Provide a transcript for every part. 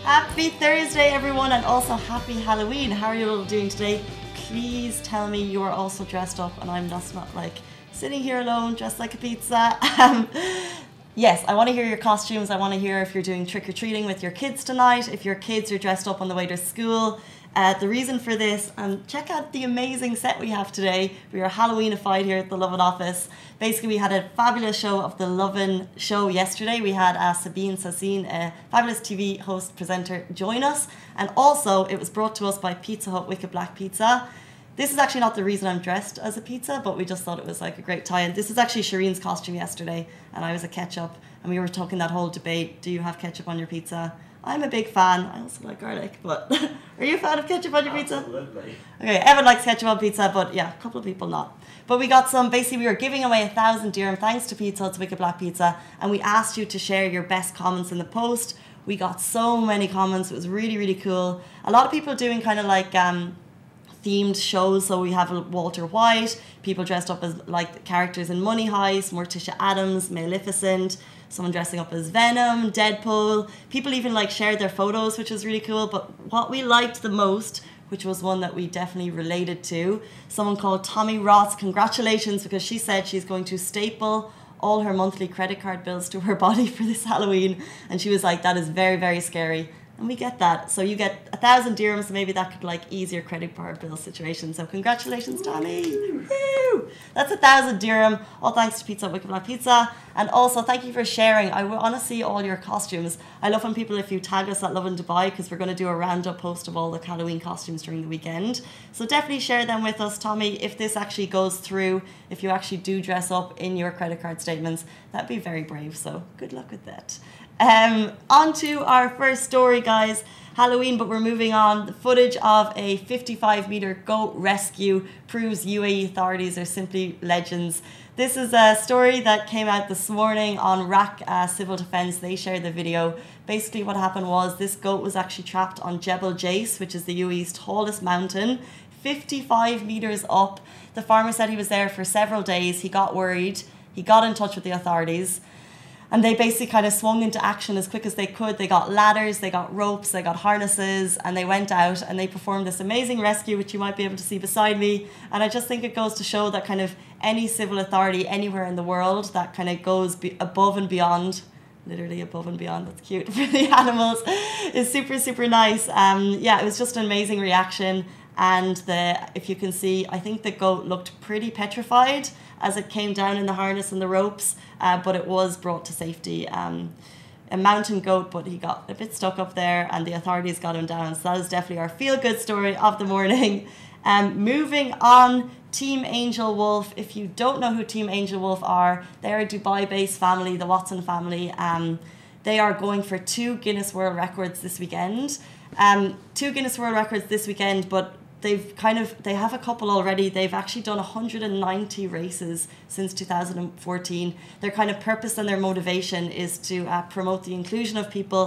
Happy Thursday, everyone, and also happy Halloween. How are you all doing today? Please tell me you are also dressed up and I'm just not like sitting here alone dressed like a pizza. Yes, I want to hear your costumes. I want to hear if you're doing trick-or-treating with your kids tonight, if your kids are dressed up on the way to school. The reason for this, and check out the amazing set we have today. We are Halloweenified here at the Lovin office. Basically, we had a fabulous show of the Lovin show yesterday. We had Sabine Sassine, a fabulous TV host presenter, join us. And also, it was brought to us by Pizza Hut Wicked Black Pizza. This is actually not the reason I'm dressed as a pizza, but we just thought it was like a great tie-in. This is actually Shireen's costume yesterday, and I was a ketchup. And we were talking that whole debate, do you have ketchup on your pizza? I'm a big fan. I also like garlic, but are you a fan of ketchup on your pizza? Absolutely. Okay, Evan likes ketchup on pizza, but yeah, a couple of people not. But we got some, basically we were giving away 1,000 dirham thanks to Pizza Hut's Wicked Black Pizza, and we asked you to share your best comments in the post. We got so many comments. It was really, really cool. A lot of people doing kind of like themed shows. So we have Walter White, people dressed up as like characters in Money Heist, Morticia Adams, Maleficent, someone dressing up as Venom, Deadpool. People even like shared their photos, which was really cool. But what we liked the most, which was one that we definitely related to, someone called Tommy Ross, congratulations, because she said she's going to staple all her monthly credit card bills to her body for this Halloween. And she was like, that is very, very scary. And we get that. So you get 1,000 dirhams, so maybe that could like ease your credit card bill situation. So congratulations, Tommy. Woo! That's 1,000 dirham. All thanks to Pizza Hut Wicked Black Pizza. And also thank you for sharing. I want to see all your costumes. I love when people, if you tag us at Lovin Dubai, because we're going to do a roundup post of all the Halloween costumes during the weekend. So definitely share them with us, Tommy. If this actually goes through, if you actually do dress up in your credit card statements, that'd be very brave. So good luck with that. On to our first story, guys. Halloween, but we're moving on. The footage of a 55-meter goat rescue proves UAE authorities are simply legends. This is a story that came out this morning on RAC Civil Defence. They shared the video. Basically what happened was this goat was actually trapped on Jebel Jais, which is the UAE's tallest mountain, 55 meters up. The farmer said he was there for several days. He got worried. He got in touch with the authorities. And they basically kind of swung into action as quick as they could. They got ladders, they got ropes, they got harnesses, and they went out and they performed this amazing rescue, which you might be able to see beside me. And I just think it goes to show that kind of any civil authority anywhere in the world that kind of goes above and beyond, literally above and beyond, that's cute, for the animals, is super, super nice. Yeah, it was just an amazing reaction. And if you can see, I think the goat looked pretty petrified as it came down in the harness and the ropes, but it was brought to safety. A mountain goat, but he got a bit stuck up there and the authorities got him down. So that is definitely our feel-good story of the morning. Moving on, Team Angel Wolf. If you don't know who Team Angel Wolf are, they're a Dubai-based family, the Watson family. They are going for 2 Guinness World Records this weekend. 2 Guinness World Records this weekend, but they have a couple already. They've actually done 190 races since 2014. Their kind of purpose and their motivation is to promote the inclusion of people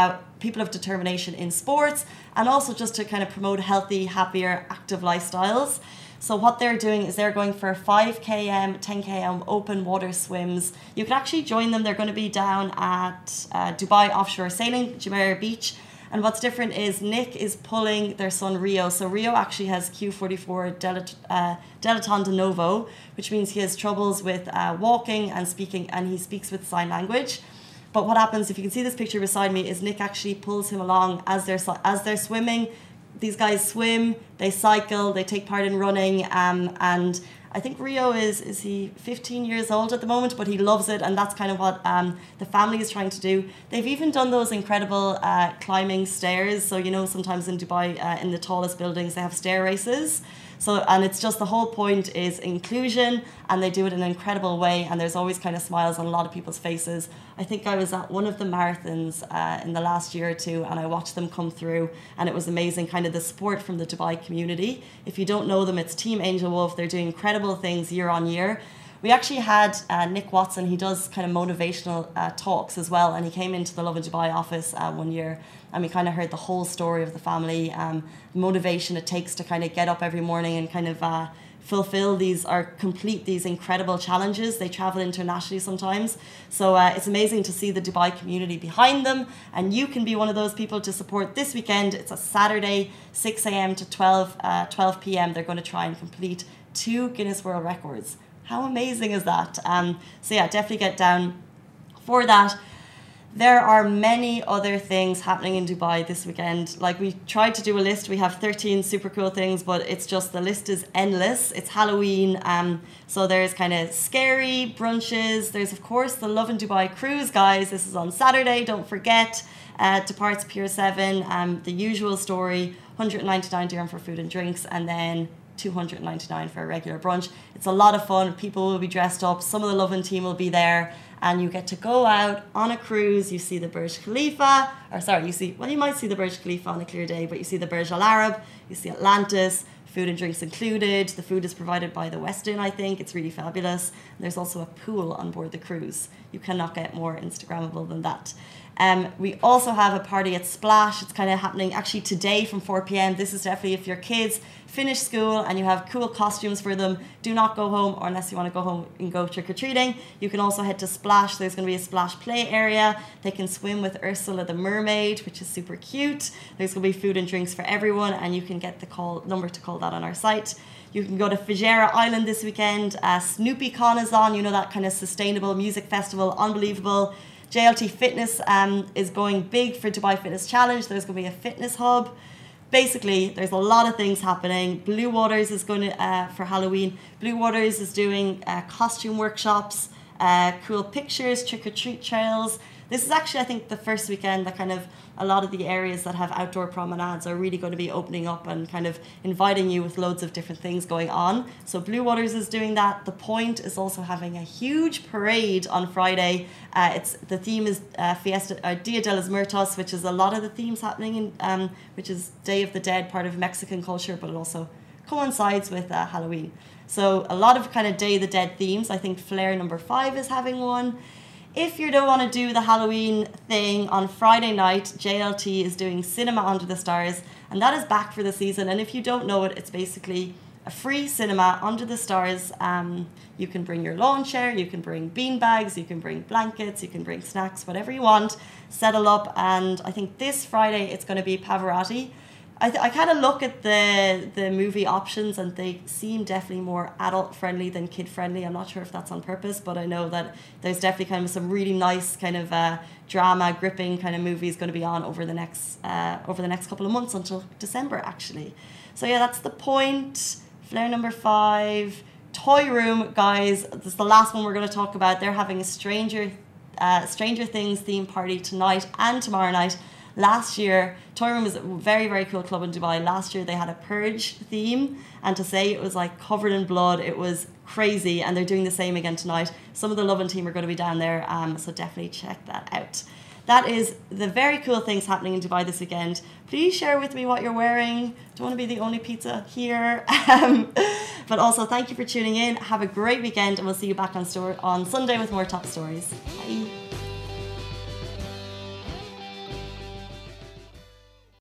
of determination in sports, and also just to kind of promote healthy, happier, active lifestyles. So what they're doing is they're going for 5 km, 10 km open water swims. You can actually join them. They're going to be down at Dubai Offshore Sailing, Jumeirah Beach. And what's different is Nick is pulling their son Rio. So Rio actually has Q44 Dilaton de Novo, which means he has troubles with walking and speaking, and he speaks with sign language. But what happens, if you can see this picture beside me, is Nick actually pulls him along as they're swimming. These guys swim, they cycle, they take part in running, and I think Rio is he 15 years old at the moment, but he loves it, and that's kind of what the family is trying to do. They've even done those incredible climbing stairs. So, you know, sometimes in Dubai, in the tallest buildings, they have stair races. So, and it's just the whole point is inclusion, and they do it in an incredible way, and there's always kind of smiles on a lot of people's faces. I think I was at one of the marathons in the last year or two, and I watched them come through, and it was amazing, kind of the support from the Dubai community. If you don't know them, it's Team Angel Wolf. They're doing incredible things year on year. We actually had Nick Watson. He does kind of motivational talks as well, and he came into the Lovin Dubai office one year, and we kind of heard the whole story of the family, the motivation it takes to kind of get up every morning and kind of fulfill these or complete these incredible challenges. They travel internationally sometimes. So it's amazing to see the Dubai community behind them. And you can be one of those people to support this weekend. It's a Saturday, 6 a.m. to 12 p.m. They're going to try and complete 2 Guinness World Records. How amazing is that? So yeah, definitely get down for that. There are many other things happening in Dubai this weekend. Like, we tried to do a list. We have 13 super cool things, but it's just, the list is endless. It's Halloween. So there's kind of scary brunches. There's, of course, the Lovin Dubai cruise, guys. This is on Saturday. Don't forget. Departs Pier 7. The usual story, 199 dirham for food and drinks, and then 299 for a regular brunch. It's a lot of fun. People will be dressed up. Some of the Lovin team will be there. And you get to go out on a cruise. You see the Burj Khalifa, you might see the Burj Khalifa on a clear day, but you see the Burj Al Arab, you see Atlantis, food and drinks included. The food is provided by the Westin, I think. It's really fabulous. And there's also a pool on board the cruise. You cannot get more Instagrammable than that. We also have a party at Splash. It's kind of happening actually today from 4 p.m. This is definitely if your kids finish school and you have cool costumes for them. Do not go home, or unless you want to go home and go trick-or-treating. You can also head to Splash. There's going to be a Splash play area. They can swim with Ursula the mermaid, which is super cute. There's going to be food and drinks for everyone, and you can get the number to call that on our site. You can go to Fujairah Island this weekend. SnoopyCon is on, you know, that kind of sustainable music festival, unbelievable. JLT Fitness is going big for Dubai Fitness Challenge. There's going to be a fitness hub. Basically, there's a lot of things happening. Blue Waters is going to, for Halloween, Blue Waters is doing costume workshops, cool pictures, trick-or-treat trails. This is actually, I think, the first weekend that kind of a lot of the areas that have outdoor promenades are really going to be opening up and kind of inviting you with loads of different things going on. So Blue Waters is doing that. The Point is also having a huge parade on Friday. The theme is Dia de los Muertos, which is a lot of the themes happening in, which is Day of the Dead, part of Mexican culture, but it also coincides with Halloween. So a lot of kind of Day of the Dead themes. I think Flair number 5 is having one. If you don't want to do the Halloween thing, on Friday night, JLT is doing Cinema Under the Stars, and that is back for the season. And if you don't know it, it's basically a free cinema under the stars. You can bring your lawn chair, you can bring bean bags, you can bring blankets, you can bring snacks, whatever you want, settle up. And I think this Friday it's going to be Pavarotti. I kind of look at the movie options, and they seem definitely more adult friendly than kid friendly. I'm not sure if that's on purpose, but I know that there's definitely kind of some really nice kind of drama, gripping kind of movies going to be on over the next couple of months until December actually. So yeah, that's The Point, Flair number 5, Toy Room, guys. This is the last one we're going to talk about. They're having a Stranger Things theme party tonight and tomorrow night. Last year, Toy Room is a very, very cool club in Dubai. Last year they had a Purge theme, and to say it was like covered in blood, it was crazy, and they're doing the same again tonight. Some of the Lovin team are going to be down there, so definitely check that out. That is the very cool things happening in Dubai this weekend. Please share with me what you're wearing. Don't want to be the only pizza here. But also, thank you for tuning in. Have a great weekend, and we'll see you back on Sunday with more top stories. Bye.